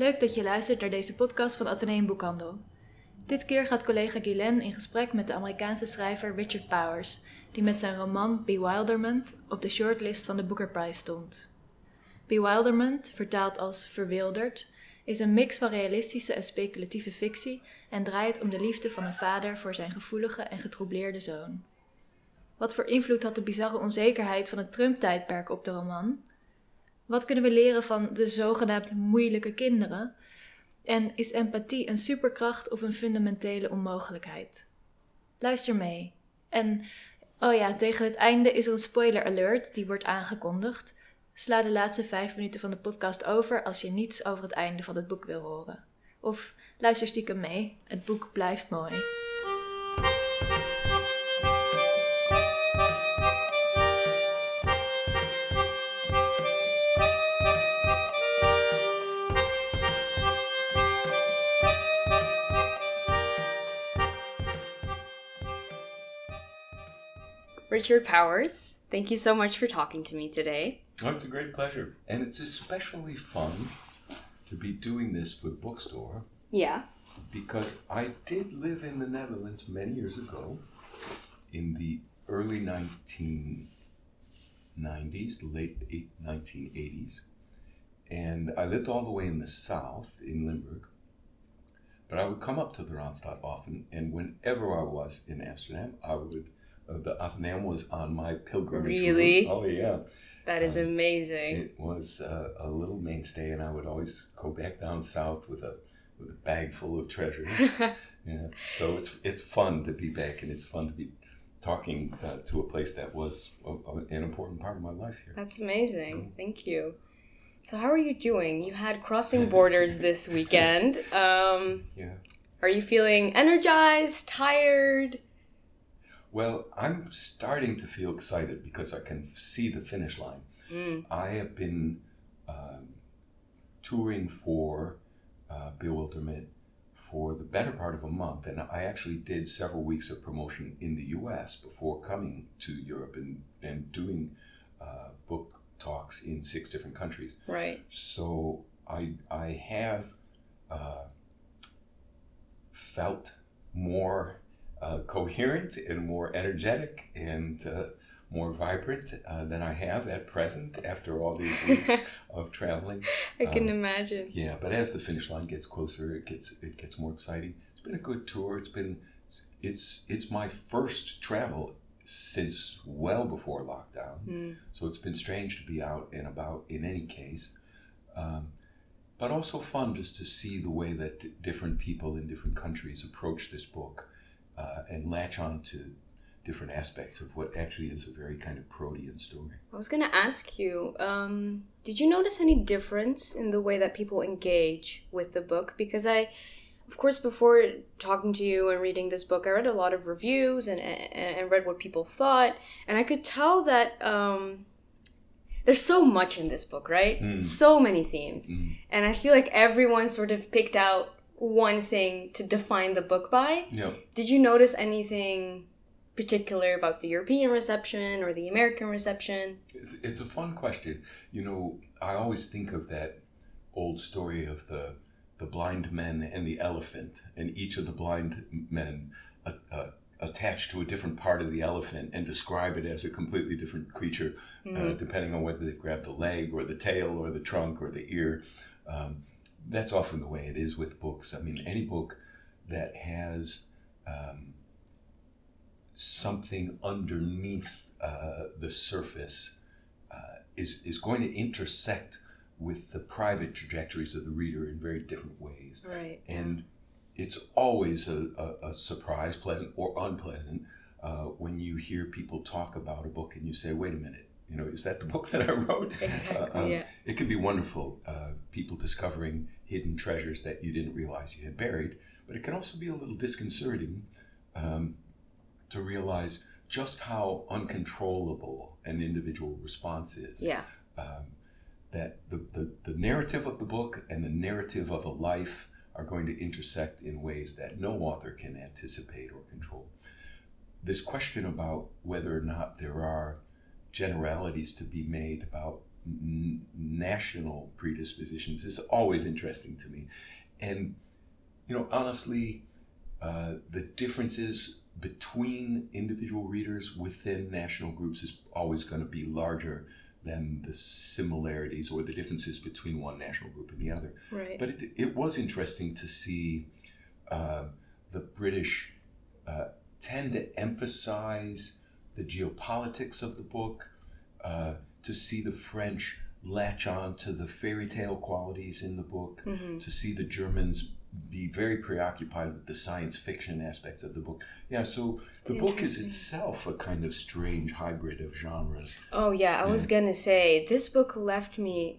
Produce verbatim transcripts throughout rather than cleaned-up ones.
Leuk dat je luistert naar deze podcast van Atheneum Boekhandel. Dit keer gaat collega Guylaine in gesprek met de Amerikaanse schrijver Richard Powers, die met zijn roman Bewilderment op de shortlist van de Booker Prize stond. Bewilderment, vertaald als verwilderd, is een mix van realistische en speculatieve fictie en draait om de liefde van een vader voor zijn gevoelige en getroubleerde zoon. Wat voor invloed had de bizarre onzekerheid van het Trump-tijdperk op de roman? Wat kunnen we leren van de zogenaamd moeilijke kinderen? En is empathie een superkracht of een fundamentele onmogelijkheid? Luister mee. En, oh ja, tegen het einde is er een spoiler alert die wordt aangekondigd. Sla de laatste vijf minuten van de podcast over als je niets over het einde van het boek wil horen. Of luister stiekem mee, het boek blijft mooi. Richard Powers, thank you so much for talking to me today. Oh, it's a great pleasure. And it's especially fun to be doing this for the bookstore. Yeah. Because I did live in the Netherlands many years ago, in the early nineteen nineties, late nineteen eighties. And I lived all the way in the south, in Limburg. But I would come up to the Randstad often, and whenever I was in Amsterdam, I would... Uh, the Atheneum was on my pilgrimage Really? route. Oh, yeah. That is um, amazing. It was uh, a little mainstay, and I would always go back down south with a with a bag full of treasures. Yeah. So it's it's fun to be back, and it's fun to be talking uh, to a place that was a, a, an important part of my life here. That's amazing. Mm. Thank you. So how are you doing? You had Crossing Borders this weekend. Um, yeah. Are you feeling energized, tired? Well, I'm starting to feel excited because I can see the finish line. Mm. I have been um, touring for uh, Bewilderment for the better part of a month, and I actually did several weeks of promotion in the U S before coming to Europe and, and doing uh, book talks in six different countries. Right. So I, I have uh, felt more... Uh, coherent and more energetic and uh, more vibrant uh, than I have at present after all these weeks of traveling. I can um, imagine. Yeah, but as the finish line gets closer, it gets it gets more exciting. It's been a good tour. It's been it's it's my first travel since well before lockdown. Mm. So it's been strange to be out and about in any case. Um, but also fun just to see the way that d- different people in different countries approach this book. Uh, and latch on to different aspects of what actually is a very kind of protean story. I was going to ask you, um, did you notice any difference in the way that people engage with the book? Because I, of course, before talking to you and reading this book, I read a lot of reviews and, and, and read what people thought. And I could tell that um, there's so much in this book, right? Mm. So many themes. Mm. And I feel like everyone sort of picked out one thing to define the book by. Yeah. Did you notice anything particular about the European reception or the American reception? It's, it's a fun question. You know, I always think of that old story of the the blind men and the elephant, and each of the blind men uh, uh, attached to a different part of the elephant and describe it as a completely different creature, mm-hmm. uh, depending on whether they grab the leg or the tail or the trunk or the ear. Um, That's often the way it is with books. I mean, any book that has um, something underneath uh, the surface uh, is is going to intersect with the private trajectories of the reader in very different ways. Right. And it's always a, a, a surprise, pleasant or unpleasant, uh, when you hear people talk about a book and you say, wait a minute, you know, is that the book that I wrote? Exactly, uh, um, yeah. It can be wonderful, uh, people discovering hidden treasures that you didn't realize you had buried, but it can also be a little disconcerting um, to realize just how uncontrollable an individual response is. Yeah. Um, that the, the, the narrative of the book and the narrative of a life are going to intersect in ways that no author can anticipate or control. This question about whether or not there are generalities to be made about n- national predispositions is always interesting to me. And, you know, honestly, uh, the differences between individual readers within national groups is always going to be larger than the similarities or the differences between one national group and the other. Right. But it, it was interesting to see uh, the British uh, tend to emphasize the geopolitics of the book, uh, to see the French latch on to the fairy tale qualities in the book, Mm-hmm. to see the Germans be very preoccupied with the science fiction aspects of the book. Yeah, so the book is Interesting. itself a kind of strange hybrid of genres. Oh yeah, I was gonna say this book left me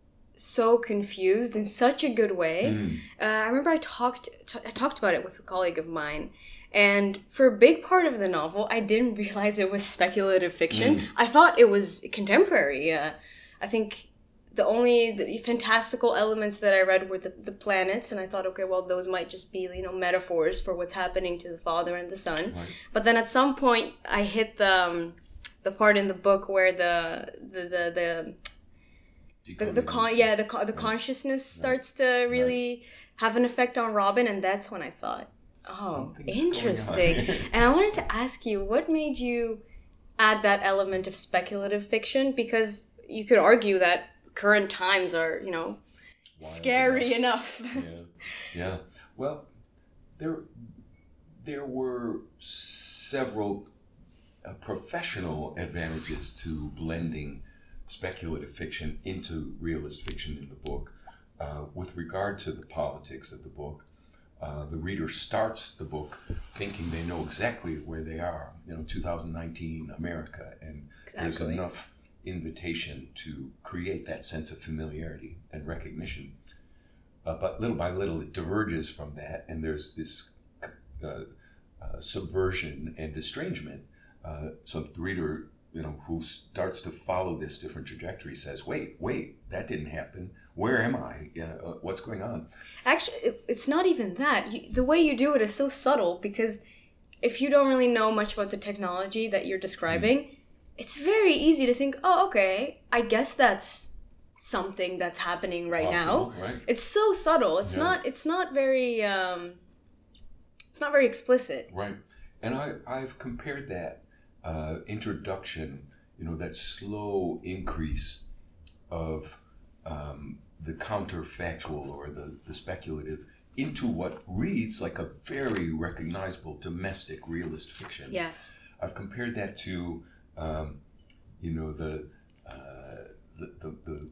so confused in such a good way. Mm. Uh, I remember I talked t- I talked about it with a colleague of mine, and for a big part of the novel, I didn't realize it was speculative fiction. Mm. I thought it was contemporary. Uh, I think the only the fantastical elements that I read were the, the planets, and I thought, okay, well, those might just be, you know, metaphors for what's happening to the father and the son. Right. But then at some point, I hit the um, the part in the book where the the the the the, the con yeah the con- the consciousness starts to really have an effect on Robin, and that's when I thought, oh, Something's going on interesting. here. And I wanted to ask you, what made you add that element of speculative fiction? Because you could argue that current times are, you know, Wild scary enough. yeah, yeah. Well, there, there were several uh, professional advantages to blending speculative fiction into realist fiction in the book. Uh, with regard to the politics of the book, uh, the reader starts the book thinking they know exactly where they are. You know, two thousand nineteen America, and there's Exactly. enough invitation to create that sense of familiarity and recognition. Uh, but little by little, it diverges from that, and there's this uh, uh, subversion and estrangement. Uh, so that the reader, you know, who starts to follow this different trajectory, says, "Wait, wait, that didn't happen. Where am I? You know, uh, what's going on?" Actually, it- it's not even that. You, the way you do it is so subtle, because if you don't really know much about the technology that you're describing, mm. it's very easy to think, oh, okay, I guess that's something that's happening right Possible, now. right? It's so subtle. It's Yeah. not. It's not very. Um, it's not very explicit. Right. And I, I've compared that uh, introduction, you know, that slow increase of um, the counterfactual or the, the speculative into what reads like a very recognizable domestic realist fiction. Yes. I've compared that to, um, you know, the, uh, the, the, the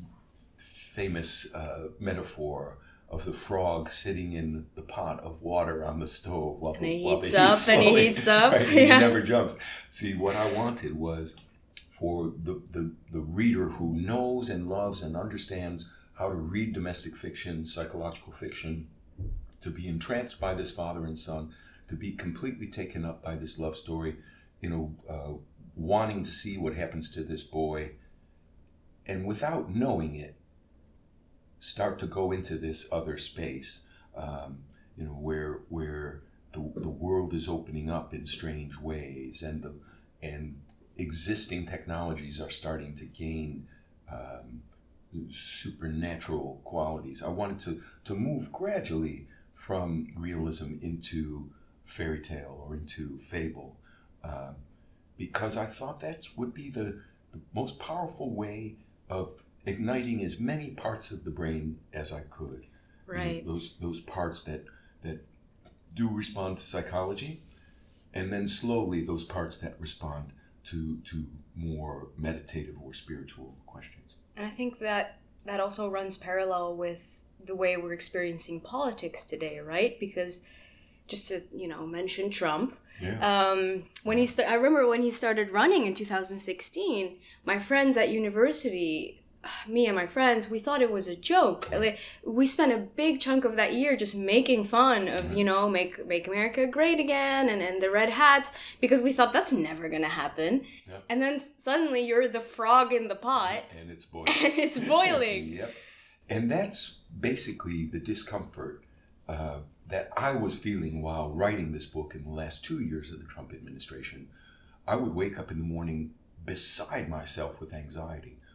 famous uh, metaphor of the frog sitting in the pot of water on the stove while, And he while heats the up heat's and he slowly- heats up, right, and yeah. he never jumps. See, what I wanted was for the, the, the reader who knows and loves and understands how to read domestic fiction, psychological fiction, to be entranced by this father and son, to be completely taken up by this love story, you know, uh, wanting to see what happens to this boy, and without knowing it, start to go into this other space, um, you know, where where the the world is opening up in strange ways, and the and existing technologies are starting to gain um, supernatural qualities. I wanted to to move gradually from realism into fairy tale or into fable, um, because I thought that would be the, the most powerful way of igniting as many parts of the brain as I could. Right. You know, those those parts that that do respond to psychology, and then slowly those parts that respond to to more meditative or spiritual questions. And I think that that also runs parallel with the way we're experiencing politics today, right? Because just to, you know, mention Trump, Yeah. um, when he sta- I remember when he started running in two thousand sixteen, my friends at university, me and my friends, we thought it was a joke. Like, we spent a big chunk of that year just making fun of, you know, make make America great again, and, and the red hats, because we thought that's never gonna happen. Yeah. And then suddenly you're the frog in the pot, And it's boiling. and it's boiling. Yep. And that's basically the discomfort uh, that I was feeling while writing this book in the last two years of the Trump administration. I would wake up in the morning beside myself with anxiety,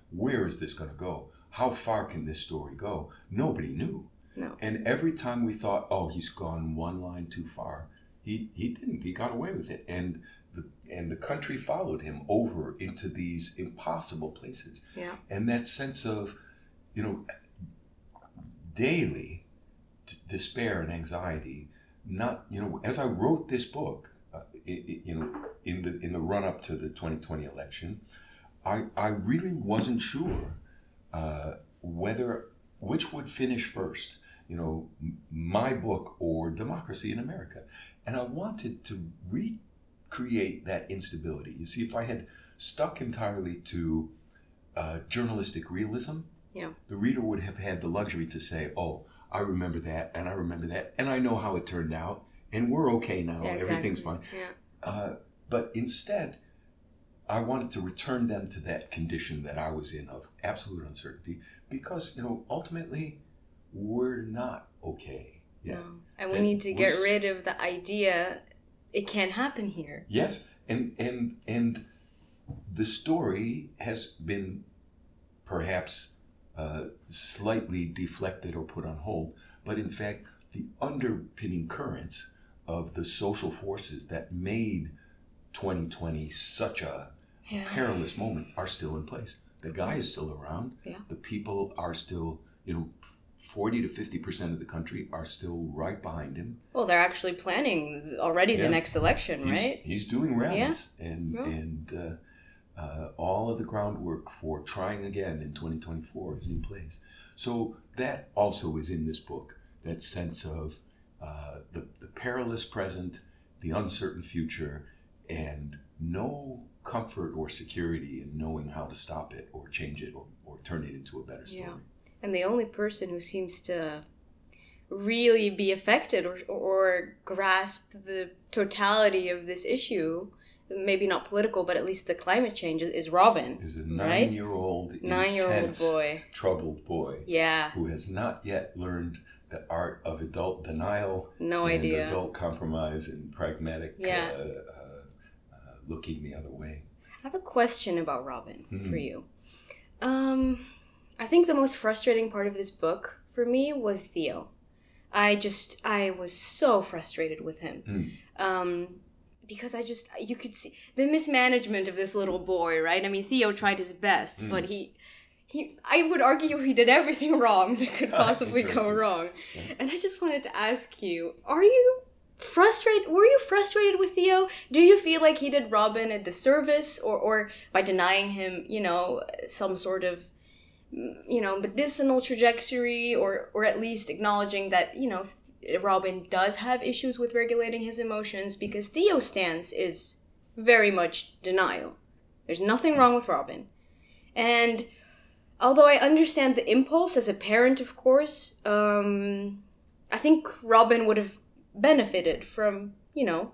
where is this going to go? How far can this story go? Nobody knew. No. And every time we thought, oh, he's gone one line too far, he, he didn't. He got away with it. And the, and the country followed him over into these impossible places. Yeah. And that sense of, you know, daily t- despair and anxiety, not, you know, as I wrote this book, uh, it, it, you know, in the in the run up to the twenty twenty election, I I really wasn't sure uh, whether which would finish first, you know, m- my book or Democracy in America, and I wanted to recreate that instability. You see, if I had stuck entirely to uh, journalistic realism, Yeah. the reader would have had the luxury to say, "Oh, I remember that, and I remember that, and I know how it turned out, and we're okay now. Yeah, exactly. Everything's fine." Yeah. Uh, but instead, I wanted to return them to that condition that I was in of absolute uncertainty, because, you know, ultimately, we're not okay yet. No. And we And need to we're get s- rid of the idea it can't happen here. Yes, and and and the story has been perhaps uh, slightly deflected or put on hold, but in fact, the underpinning currents of the social forces that made twenty twenty such a Yeah. perilous moment are still in place. The guy is still around. Yeah. The people are still, you know, forty to fifty percent of the country are still right behind him. Well, they're actually planning already Yeah. the next election, He's, right? he's doing rallies, and Yeah. and uh, uh, all of the groundwork for trying again in twenty twenty-four is in place. So that also is in this book. That sense of uh, the the perilous present, the uncertain future, and no comfort or security in knowing how to stop it or change it or, or turn it into a better story. Yeah. And the only person who seems to really be affected or, or grasp the totality of this issue, maybe not political, but at least the climate change, is, is Robin. Is a right? nine-year-old, Nine-year-old intense, boy. troubled boy Yeah. who has not yet learned the art of adult denial, No and idea. adult compromise and pragmatic Yeah. uh, uh, uh, looking the other way. I have a question about Robin Mhm. for you. Um, I think the most frustrating part of this book for me was Theo. I just, I was so frustrated with him. Mm. Um, because I just, you could see the mismanagement of this little boy, right? I mean, Theo tried his best, Mm. but he, he, I would argue he did everything wrong that could possibly go Interesting. wrong. Yeah. And I just wanted to ask you, are you frustrated? Were you frustrated with Theo? Do you feel like he did Robin a disservice, or, or by denying him, you know, some sort of, you know, medicinal trajectory, or, or at least acknowledging that, you know, Robin does have issues with regulating his emotions, because Theo's stance is very much denial. There's nothing wrong with Robin. And although I understand the impulse as a parent, of course, um, I think Robin would have benefited from, you know,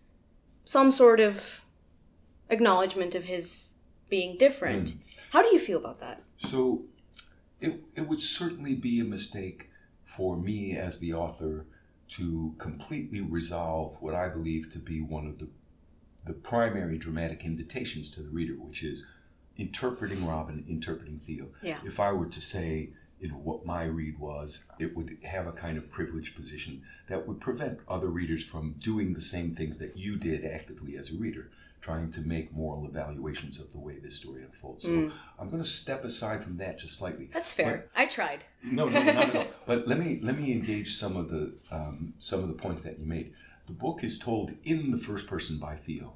some sort of acknowledgement of his being different. Mm. How do you feel about that? So it, it would certainly be a mistake for me as the author to completely resolve what I believe to be one of the the primary dramatic invitations to the reader, which is interpreting Robin, interpreting Theo. Yeah. If I were to say, you know, what my read was, it would have a kind of privileged position that would prevent other readers from doing the same things that you did actively as a reader, trying to make moral evaluations of the way this story unfolds. So Mm. I'm going to step aside from that just slightly. That's fair. I tried. No, no, not at all. But let me let me engage some of the um, some of the points that you made. The book is told in the first person by Theo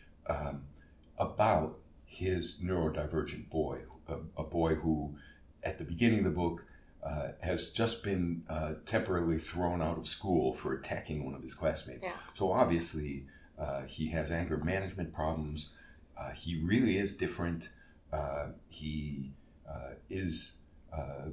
um, about his neurodivergent boy, a, a boy who, at the beginning of the book, uh, has just been uh, temporarily thrown out of school for attacking one of his classmates. Yeah. So obviously, uh, he has anger management problems. Uh, he really is different. Uh, he uh, is uh,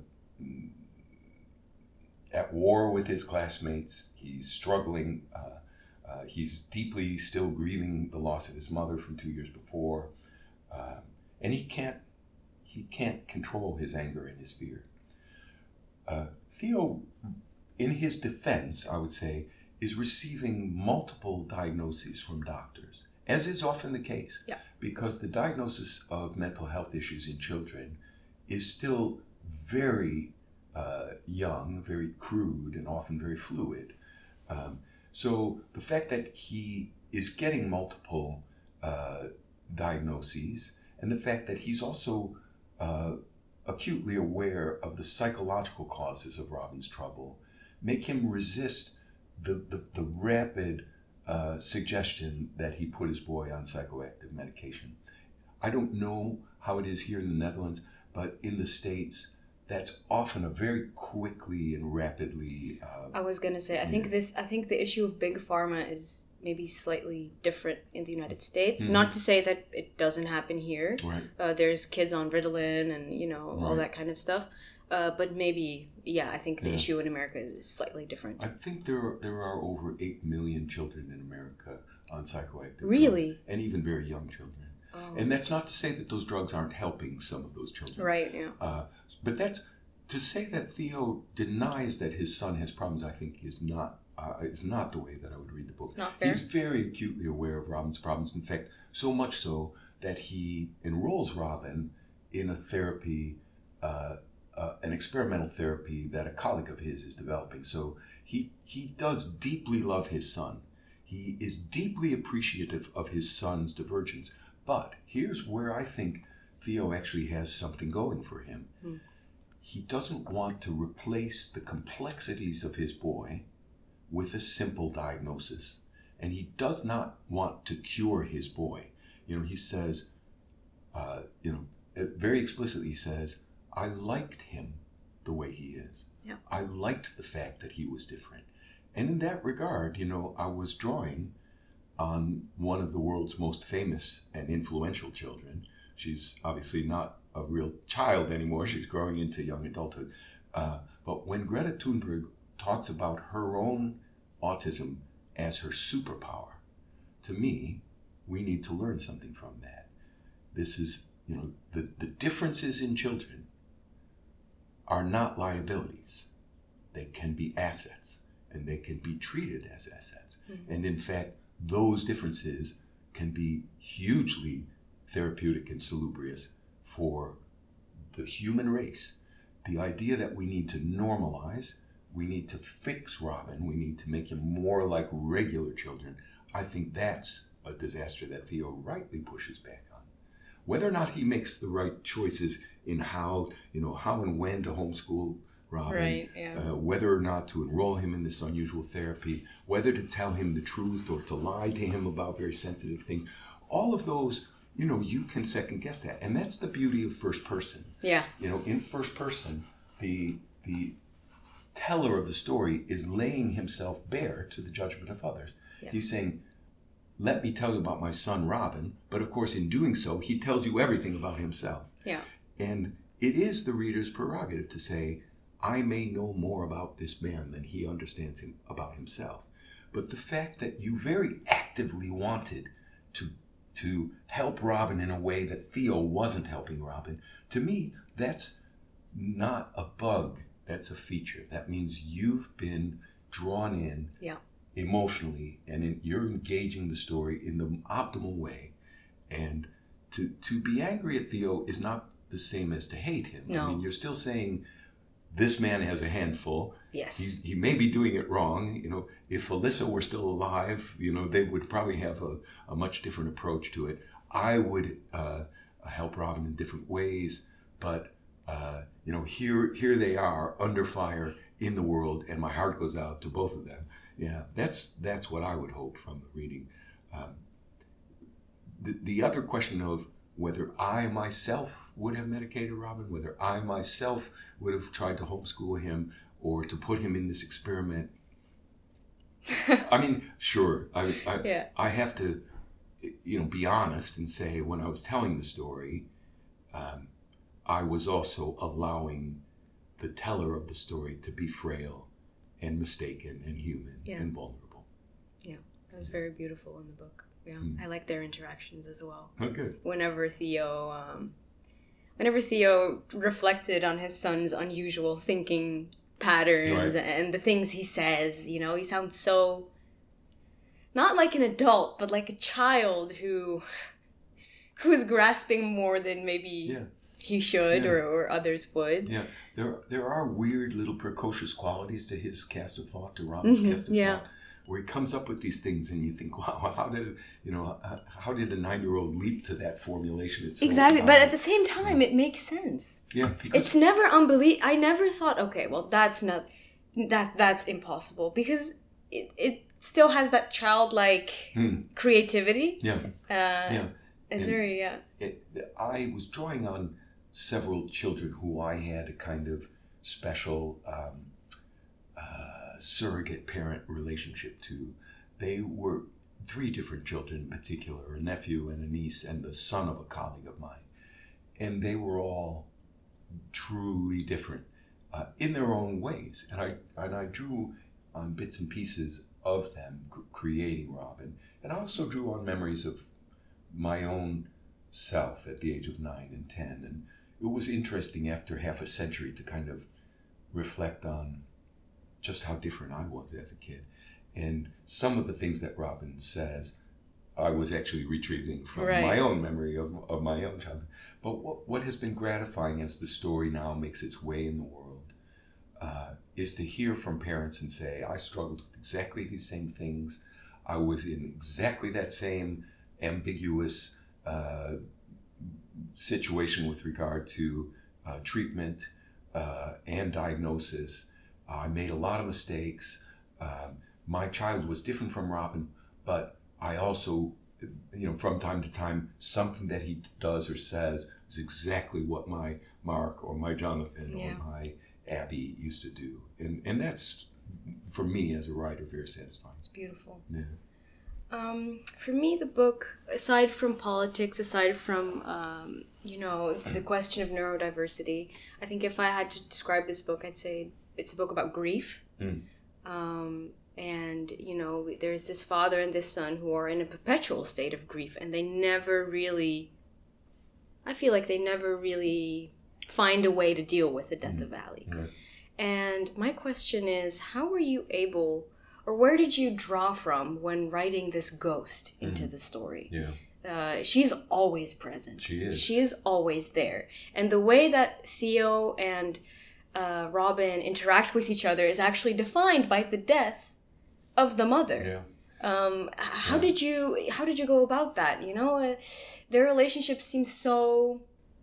at war with his classmates. He's struggling. Uh, uh, he's deeply still grieving the loss of his mother from two years before. Uh, and he can't he can't control his anger and his fear. Uh, Theo, in his defense, I would say, is receiving multiple diagnoses from doctors, as is often the case. Yeah. Because the diagnosis of mental health issues in children is still very uh, young, very crude, and often very fluid. Um, so the fact that he is getting multiple uh, diagnoses, and the fact that he's also uh, acutely aware of the psychological causes of Robin's trouble, make him resist the, the, the rapid uh, suggestion that he put his boy on psychoactive medication. I don't know how it is here in the Netherlands, but in the States, that's often a very quickly and rapidly... Uh, I was going to say, I think this. I think the issue of big pharma is maybe slightly different in the United States. Mm-hmm. Not to say that it doesn't happen here. Right. Uh, there's kids on Ritalin and, you know, right. all that kind of stuff. Uh, but maybe, yeah, I think the yeah. issue in America is slightly different. I think there are, there are over eight million children in America on psychoactive really? drugs. And even very young children. Oh. And that's not to say that those drugs aren't helping some of those children. Right, yeah. Uh, but that's, to say that Theo denies that his son has problems, I think is not uh, is not the way that I would read the book. It's not fair. He's very acutely aware of Robin's problems. In fact, so much so that he enrolls Robin in a therapy, uh, uh, an experimental therapy that a colleague of his is developing. So he he does deeply love his son. He is deeply appreciative of his son's divergence. But here's where I think Theo actually has something going for him. Hmm. He doesn't want to replace the complexities of his boy with a simple diagnosis. And he does not want to cure his boy. You know, he says, uh, you know, very explicitly he says, I liked him the way he is. Yeah. I liked the fact that he was different. And in that regard, you know, I was drawing on one of the world's most famous and influential children. She's obviously not a real child anymore. She's growing into young adulthood. Uh, but when Greta Thunberg talks about her own autism as her superpower, to me, we need to learn something from that. This is, you know, the, the differences in children are not liabilities. They can be assets, and they can be treated as assets. Mm-hmm. And in fact, those differences can be hugely therapeutic and salubrious for the human race. The idea that we need to normalize, we need to fix Robin, we need to make him more like regular children, I think that's a disaster that Theo rightly pushes back on. Whether or not he makes the right choices in how, you know, how and when to homeschool Robin, right, yeah. uh, whether or not to enroll him in this unusual therapy, whether to tell him the truth or to lie to him about very sensitive things, all of those, you know, you can second guess that. And that's the beauty of first person. Yeah. You know, in first person, the the teller of the story is laying himself bare to the judgment of others. Yeah. He's saying, let me tell you about my son, Robin. But of course, in doing so, he tells you everything about himself. Yeah. And it is the reader's prerogative to say, I may know more about this man than he understands him about himself. But the fact that you very actively wanted to to help Robin in a way that Theo wasn't helping Robin, to me, that's not a bug. That's a feature. That means you've been drawn in yeah. emotionally, and in, you're engaging the story in the optimal way. And to to be angry at Theo is not the same as to hate him. No. I mean, you're still saying, this man has a handful. Yes. He's, he may be doing it wrong. You know, if Alyssa were still alive, you know, they would probably have a, a much different approach to it. I would uh, help Robin in different ways, but uh, you know, here here they are under fire in the world, and my heart goes out to both of them. Yeah, that's that's what I would hope from the reading. Um, the the other question of whether I myself would have medicated Robin, whether I myself would have tried to homeschool him or to put him in this experiment. I mean, sure, I I, yeah. I have to, you know, be honest and say when I was telling the story, um, I was also allowing the teller of the story to be frail and mistaken and human yeah. and vulnerable. Yeah, that was very beautiful in the book. Yeah, mm. I like their interactions as well. Oh, good. Whenever Theo, um, whenever Theo reflected on his son's unusual thinking patterns right. and the things he says, you know, he sounds so not like an adult, but like a child who who's grasping more than maybe yeah. he should Yeah. or, or others would. Yeah, there there are weird little precocious qualities to his cast of thought, to Robin's Mhm, cast of yeah. thought, where he comes up with these things, and you think, wow, how did you know how, how did a nine year old leap to that formulation? It's so Exactly, but odd. at the same time, it makes sense. yeah, because It's never unbelie. I never thought, okay, well, that's not that that's impossible because it, it still has that childlike Hmm. creativity. yeah, Uh, yeah. It's And- very yeah. It, I was drawing on several children who I had a kind of special um, uh, surrogate parent relationship to. They were three different children in particular, a nephew and a niece and the son of a colleague of mine. And they were all truly different uh, in their own ways. And I, and I drew on bits and pieces of them c- creating Robin. And I also drew on memories of my own self at the age of nine and ten. And it was interesting after half a century to kind of reflect on just how different I was as a kid. And some of the things that Robin says, I was actually retrieving from Right. my own memory of, of my own childhood. But what, what has been gratifying as the story now makes its way in the world uh, is to hear from parents and say, I struggled with exactly these same things. I was in exactly that same ambiguous uh, situation with regard to uh, treatment uh, and diagnosis. I made a lot of mistakes. Um, my child was different from Robin, but I also, you know, from time to time, something that he does or says is exactly what my Mark or my Jonathan Yeah. or my Abby used to do. And and that's, for me as a writer, very satisfying. It's beautiful. Yeah. Um, for me, the book, aside from politics, aside from um, you know the question of neurodiversity, I think if I had to describe this book, I'd say it's a book about grief. Mm. Um, and you know, there's this father and this son who are in a perpetual state of grief, and they never really. I feel like they never really find a way to deal with the death Mm. of Ali. Right. And my question is, how were you able, or where did you draw from when writing this ghost into the story? Yeah. Uh, she's always present. She is. She is always there. And the way that Theo and uh, Robin interact with each other is actually defined by the death of the mother. Yeah. Um, h- how Yeah. did you how did you go about that? You know, uh, their relationship seems so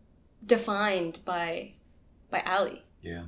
defined by by Ali. Yeah.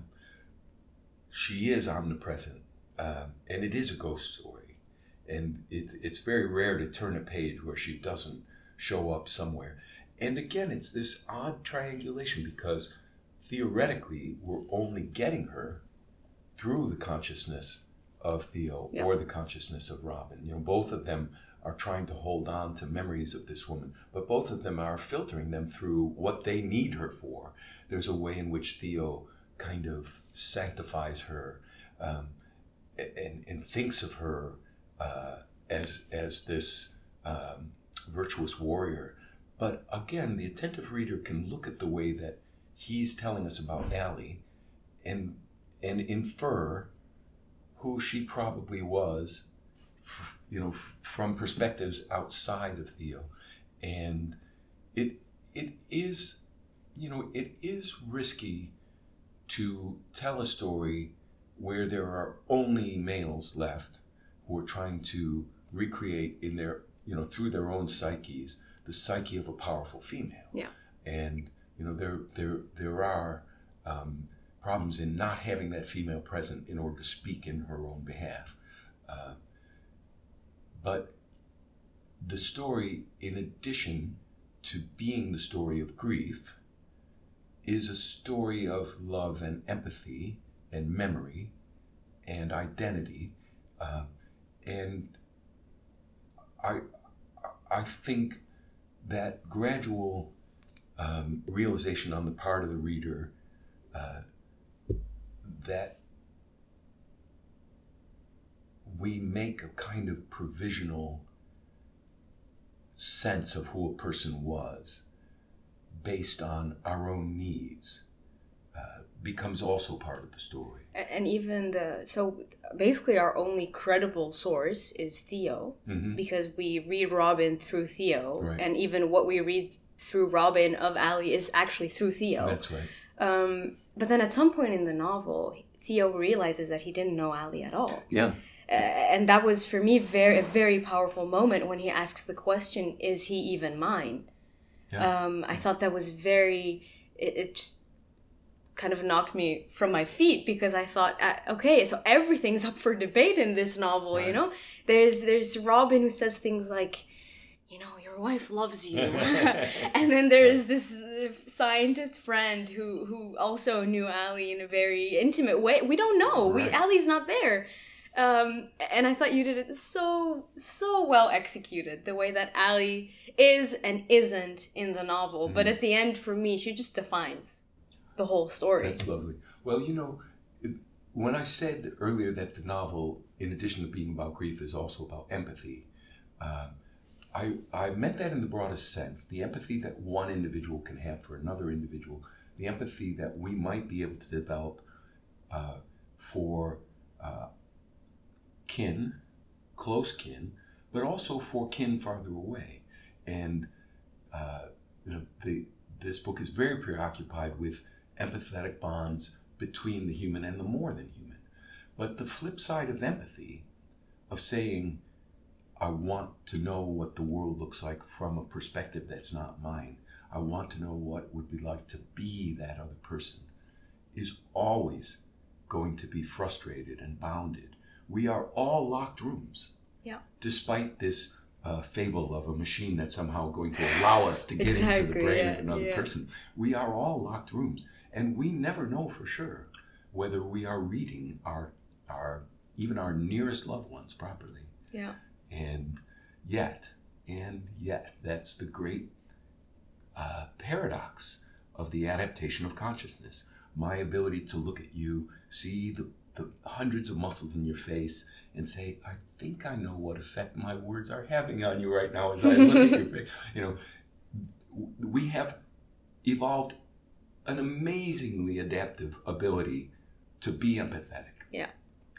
She is omnipresent, um, and it is a ghost story. And it's it's very rare to turn a page where she doesn't show up somewhere. And again, it's this odd triangulation because theoretically we're only getting her through the consciousness of Theo Yeah. or the consciousness of Robin. You know, both of them are trying to hold on to memories of this woman, but both of them are filtering them through what they need her for. There's a way in which Theo kind of sanctifies her um, and, and thinks of her uh, as, as this um, virtuous warrior. But again, the attentive reader can look at the way that he's telling us about Ali and, and infer who she probably was, f- you know, f- from perspectives outside of Theo. And it it is, you know, it is risky to tell a story where there are only males left who are trying to recreate in their, you know, through their own psyches, the psyche of a powerful female. Yeah. And, you know, there there there are um, problems in not having that female present in order to speak in her own behalf. Uh, but the story, in addition to being the story of grief, is a story of love and empathy and memory and identity. Uh, and I, I think that gradual um, realization on the part of the reader uh, that we make a kind of provisional sense of who a person was based on our own needs uh, becomes also part of the story. A- And even the so basically our only credible source is Theo Mm-hmm. because we read Robin through Theo, Right. and even what we read through Robin of Ali is actually through Theo. That's right. Um, but then at some point in the novel, Theo realizes that he didn't know Ali at all. Yeah. Uh, and that was for me very a very powerful moment when he asks the question, "Is he even mine?" Yeah. Um, I thought that was very. It, it just kind of knocked me from my feet because I thought, uh, okay, so everything's up for debate in this novel. Right. You know, there's there's Robin who says things like, you know, your wife loves you. And then there's this uh, scientist friend who, who also knew Ali in a very intimate way. We don't know. Right. We Ali's not there. Um, and I thought you did it so, so well executed, the way that Ali is and isn't in the novel. Mm. But at the end, for me, she just defines the whole story. That's lovely. Well, you know, when I said earlier that the novel, in addition to being about grief, is also about empathy, um, I, I meant that in the broadest sense. The empathy that one individual can have for another individual, the empathy that we might be able to develop uh, for uh, kin, close kin, but also for kin farther away. And uh, you know, the, this book is very preoccupied with empathetic bonds between the human and the more than human. But the flip side of empathy, of saying, I want to know what the world looks like from a perspective that's not mine. I want to know what it would be like to be that other person, is always going to be frustrated and bounded. We are all locked rooms. Yeah. Despite this uh, fable of a machine that's somehow going to allow us to get exactly, into the brain yeah, of another yeah. person. We are all locked rooms. And we never know for sure whether we are reading our, our even our nearest loved ones properly. Yeah. And yet, and yet, that's the great uh, paradox of the adaptation of consciousness. My ability to look at you, see the, the hundreds of muscles in your face, and say, I think I know what effect my words are having on you right now as I look at your face. You know, we have evolved an amazingly adaptive ability to be empathetic. Yeah.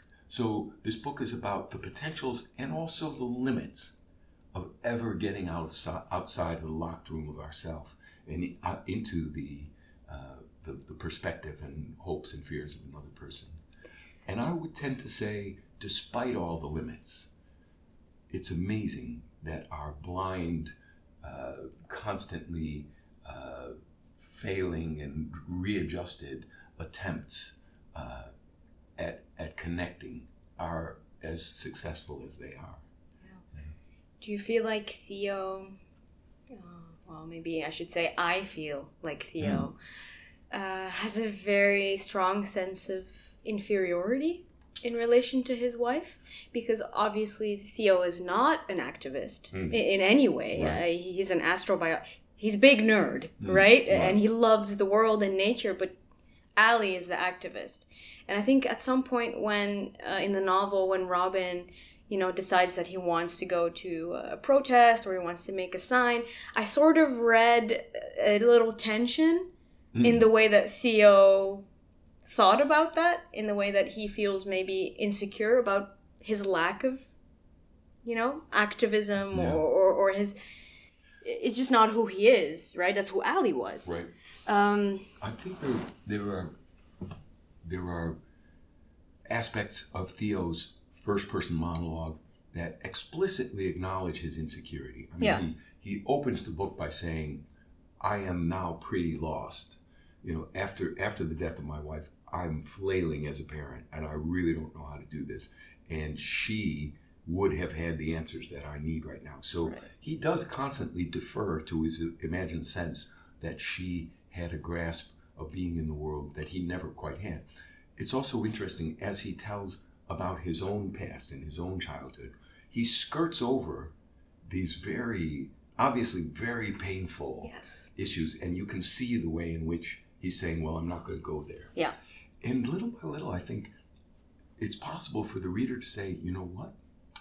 So this book is about the potentials and also the limits of ever getting out of, outside of the locked room of ourself and uh, into the, uh, the the perspective and hopes and fears of another person. And I would tend to say, despite all the limits, it's amazing that our blind, uh, constantly uh, failing and readjusted attempts uh, at at connecting are as successful as they are. Yeah. Yeah. Do you feel like Theo, uh, well, maybe I should say I feel like Theo, mm. uh, has a very strong sense of inferiority in relation to his wife? Because obviously Theo is not an activist mm. in, in any way. Right. Uh, he's an astrobiologist. He's a big nerd, mm. right? right? And he loves the world and nature, but Ali is the activist. And I think at some point when, uh, in the novel, when Robin, you know, decides that he wants to go to a protest or he wants to make a sign, I sort of read a little tension mm. in the way that Theo thought about that, in the way that he feels maybe insecure about his lack of, you know, activism yeah. or, or, or his... It's just not who he is, right? That's who Ali was. Right. Um, I think there, there are there are aspects of Theo's first-person monologue that explicitly acknowledge his insecurity. I mean, yeah. he, he opens the book by saying, I am now pretty lost. You know, after after the death of my wife, I'm flailing as a parent, and I really don't know how to do this. And she would have had the answers that I need right now. So right. he does constantly defer to his imagined sense that she had a grasp of being in the world that he never quite had. It's also interesting, as he tells about his own past and his own childhood, he skirts over these very, obviously very painful yes. issues, and you can see the way in which he's saying, well, I'm not going to go there. Yeah. And little by little, I think it's possible for the reader to say, you know what?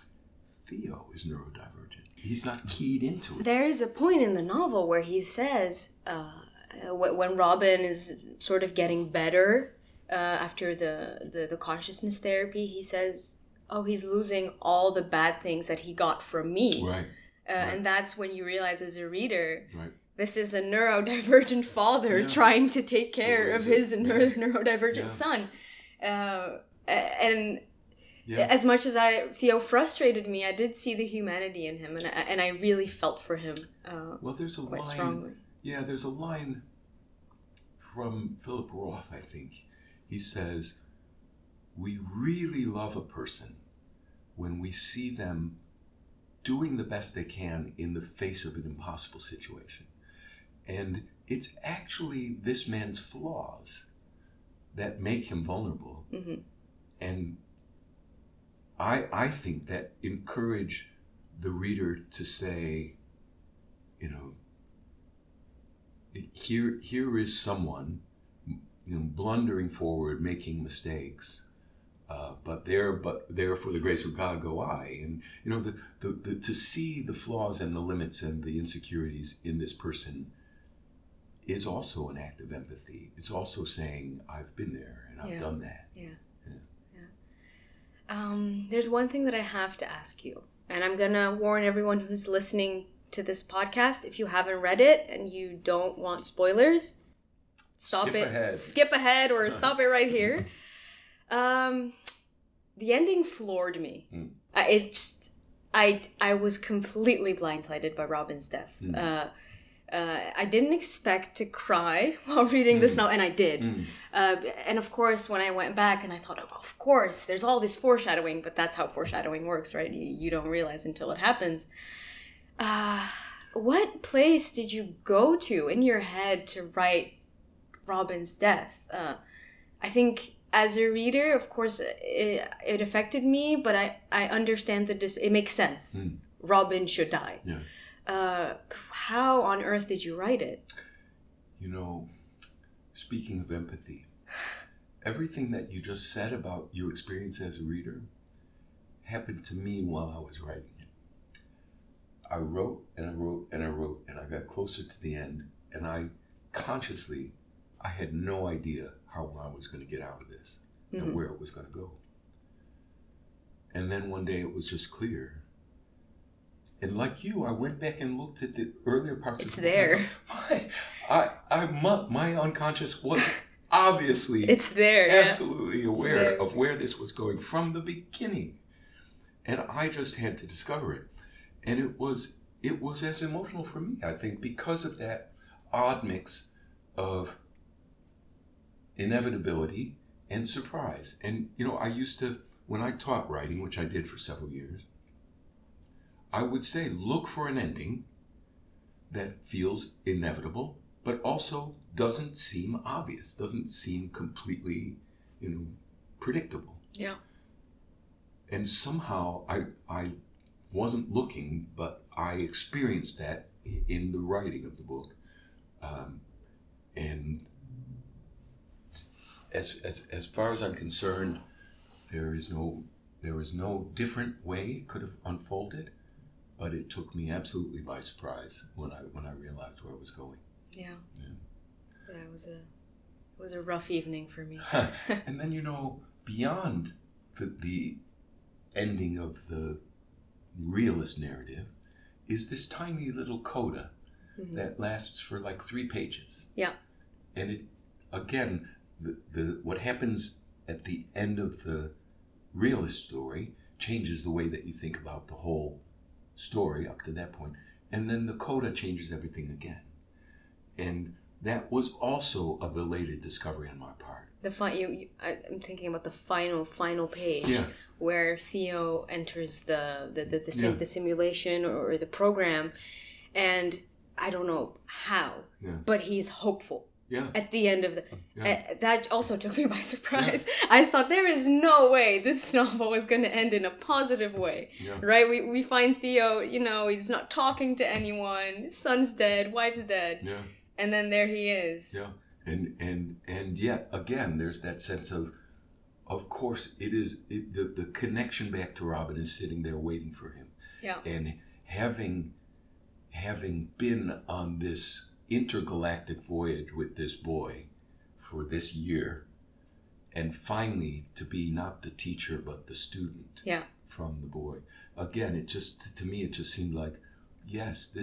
Theo is neurodivergent. He's not keyed into it. There is a point in the novel where he says, uh, when Robin is sort of getting better uh, after the, the, the consciousness therapy, he says, oh, he's losing all the bad things that he got from me. Right. Uh, right. And that's when you realize as a reader right. this is a neurodivergent father Yeah. trying to take care To of raise his it, neuro- yeah. neurodivergent Yeah. son. Uh, and Yeah. as much as I Theo frustrated me, I did see the humanity in him, and I, and I really felt for him uh, Well, there's a quite line. strongly. Yeah, there's a line from Philip Roth, I think. He says, "We really love a person when we see them doing the best they can in the face of an impossible situation." And it's actually this man's flaws that make him vulnerable. Mm-hmm. And I I think that encourage the reader to say, you know, here here is someone, you know, blundering forward, making mistakes, uh, but there but there for the grace of God go I. And you know, the, the, the to see the flaws and the limits and the insecurities in this person is also an act of empathy. It's also saying, I've been there and I've Yeah. done that. Yeah. Yeah. Yeah. Um, there's one thing that I have to ask you, and I'm gonna warn everyone who's listening to this podcast, if you haven't read it and you don't want spoilers, stop Skip it. ahead. Skip ahead or stop it right here. Um, the ending floored me. Mm. I, it just, I, I was completely blindsided by Robin's death. Mm. Uh, uh, I didn't expect to cry while reading this Mm. novel, and I did. Mm. Uh, and of course, when I went back and I thought, oh, of course, there's all this foreshadowing, but that's how foreshadowing works, right? You, you don't realize until it happens. Uh, what place did you go to in your head to write Robin's death? Uh, I think as a reader, of course, it, it affected me, but I, I understand that this, it makes sense. Mm. Robin should die. Yeah. Uh, how on earth did you write it? You know, speaking of empathy, everything that you just said about your experience as a reader happened to me while I was writing it. I wrote and I wrote and I wrote and I got closer to the end, and I consciously, I had no idea how I was going to get out of this Mhm. and where it was going to go. And then one day it was just clear. And like you, I went back and looked at the earlier parts It's of the book. and I there. thought, My, I, I, my, my unconscious was obviously It's there, yeah. absolutely aware there. of where this was going from the beginning. And I just had to discover it. And it was it was as emotional for me, I think, because of that odd mix of inevitability and surprise. And, you know, I used to, when I taught writing, which I did for several years, I would say, look for an ending that feels inevitable, but also doesn't seem obvious, doesn't seem completely, you know, predictable. Yeah. And somehow I I wasn't looking, but I experienced that in the writing of the book. Um, and as, as as far as I'm concerned, there is no there is no different way it could have unfolded, but it took me absolutely by surprise when I when I realized where it was going. Yeah. Yeah. Yeah, it was a it was a rough evening for me. And then, you know, beyond the the ending of the realist narrative is this tiny little coda Mhm. that lasts for like three pages. Yeah. And it, again, the, the what happens at the end of the realist story changes the way that you think about the whole story up to that point. And then the coda changes everything again. And that was also a belated discovery on my part. The fi- you, you I, I'm thinking about the final final page Yeah. where Theo enters the the the, the, sim- Yeah. the simulation or the program, and I don't know how, Yeah. but he's hopeful Yeah. at the end of the. Yeah. Uh, that also took me by surprise. I thought there is no way this novel is going to end in a positive way, Yeah. right? We we find Theo, you know, he's not talking to anyone. Son's dead, wife's dead, Yeah. and then there he is. Yeah. And and and yet again, there's that sense of, of course, it is it, the the connection back to Robin is sitting there waiting for him, Yeah. and having having been on this intergalactic voyage with this boy for this year, and finally to be not the teacher but the student Yeah. from the boy. Again, it just to me it just seemed like, yes, this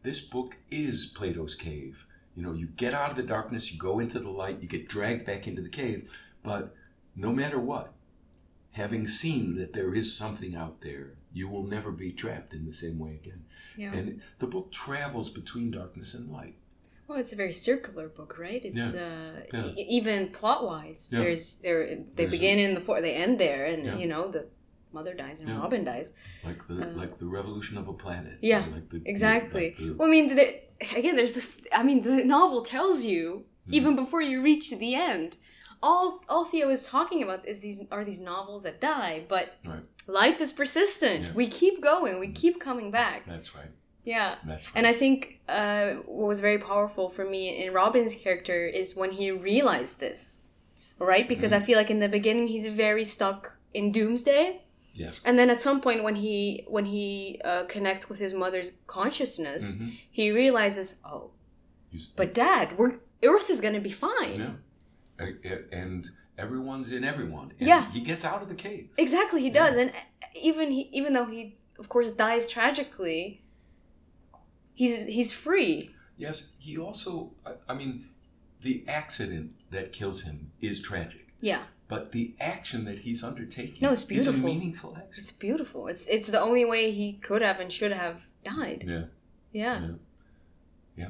this book is Plato's cave. You know, you get out of the darkness, you go into the light, you get dragged back into the cave, but no matter what, having seen that there is something out there, you will never be trapped in the same way again. Yeah. And the book travels between darkness and light. Well, it's a very circular book, right? It's Yeah. uh, Yeah. E- even plot-wise. Yeah. There's there they There's begin in the for they end there, and Yeah. you know the mother dies and Yeah. Robin dies. Like the like the revolution of a planet. Yeah, Like the, exactly. like the- Well, I mean, there, again, there's the, I mean, the novel tells you even before you reach the end. All all Theo is talking about is these are these novels that die, but right. life is persistent. Yeah. We keep going. We keep coming back. That's right. Yeah. That's right. And I think uh, what was very powerful for me in Robin's character is when he realized this, right? Because Mm-hmm. I feel like in the beginning he's very stuck in doomsday, Yes. and then at some point when he when he uh, connects with his mother's consciousness, Mhm. he realizes, oh, You s- but Dad, we're Earth is gonna be fine. Yeah. A- a- And everyone's in everyone. And Yeah. he gets out of the cave. Exactly, he does, and even he, even though he, of course, dies tragically, he's he's free. Yes. He also, I- I mean, the accident that kills him is tragic. Yeah. But the action that he's undertaking No, it's is a beautiful. meaningful action. It's beautiful. It's it's the only way he could have and should have died. Yeah. Yeah. Yeah. Yeah.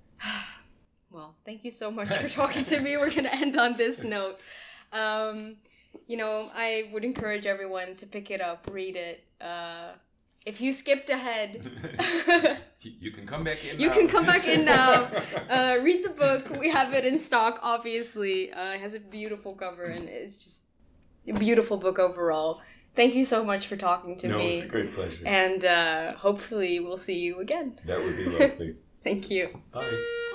Well, thank you so much for talking to me. We're gonna end on this note. Um, you know, I would encourage everyone to pick it up, read it. Uh, if you skipped ahead, You you can come back in you now. can come back in now. Uh, read the book. We have it in stock, obviously. Uh, it has a beautiful cover, and it's just a beautiful book overall. Thank you so much for talking to No, me. it's a great pleasure. And uh, hopefully we'll see you again. That would be lovely. Thank you. Bye.